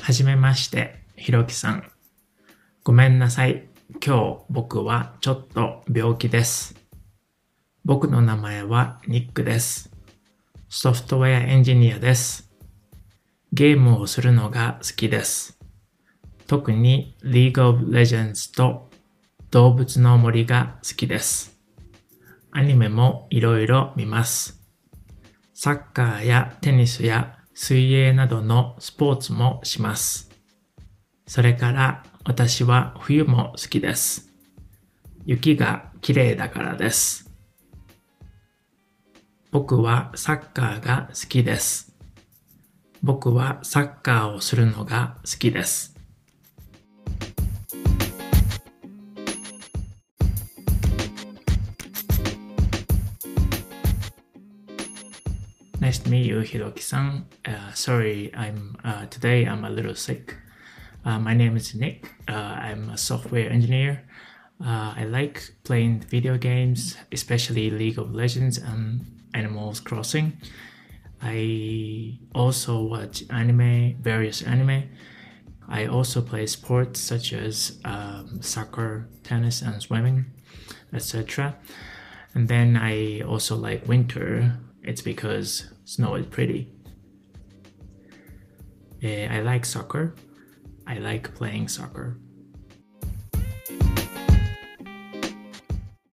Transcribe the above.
はじめまして、ひろきさん。ごめんなさい。今日僕はちょっと病気です。僕の名前はニックです。ソフトウェアエンジニアです。ゲームをするのが好きです。特に League of Legends と動物の森が好きです。アニメもいろいろ見ます。サッカーやテニスや水泳などのスポーツもします。それから私は冬も好きです。雪が綺麗だからです。僕はサッカーが好きです。僕はサッカーをするのが好きです。Nice to meet you, Hiroki-san. Sorry, today I'm a little sick. My name is Nick. I'm a software engineer. I like playing video games, especially League of Legends and Animal Crossing. I also watch anime, various anime. I also play sports such as soccer, tennis, and swimming, etc. And then I also like winter. It's because snow is pretty. I like soccer. I like playing soccer.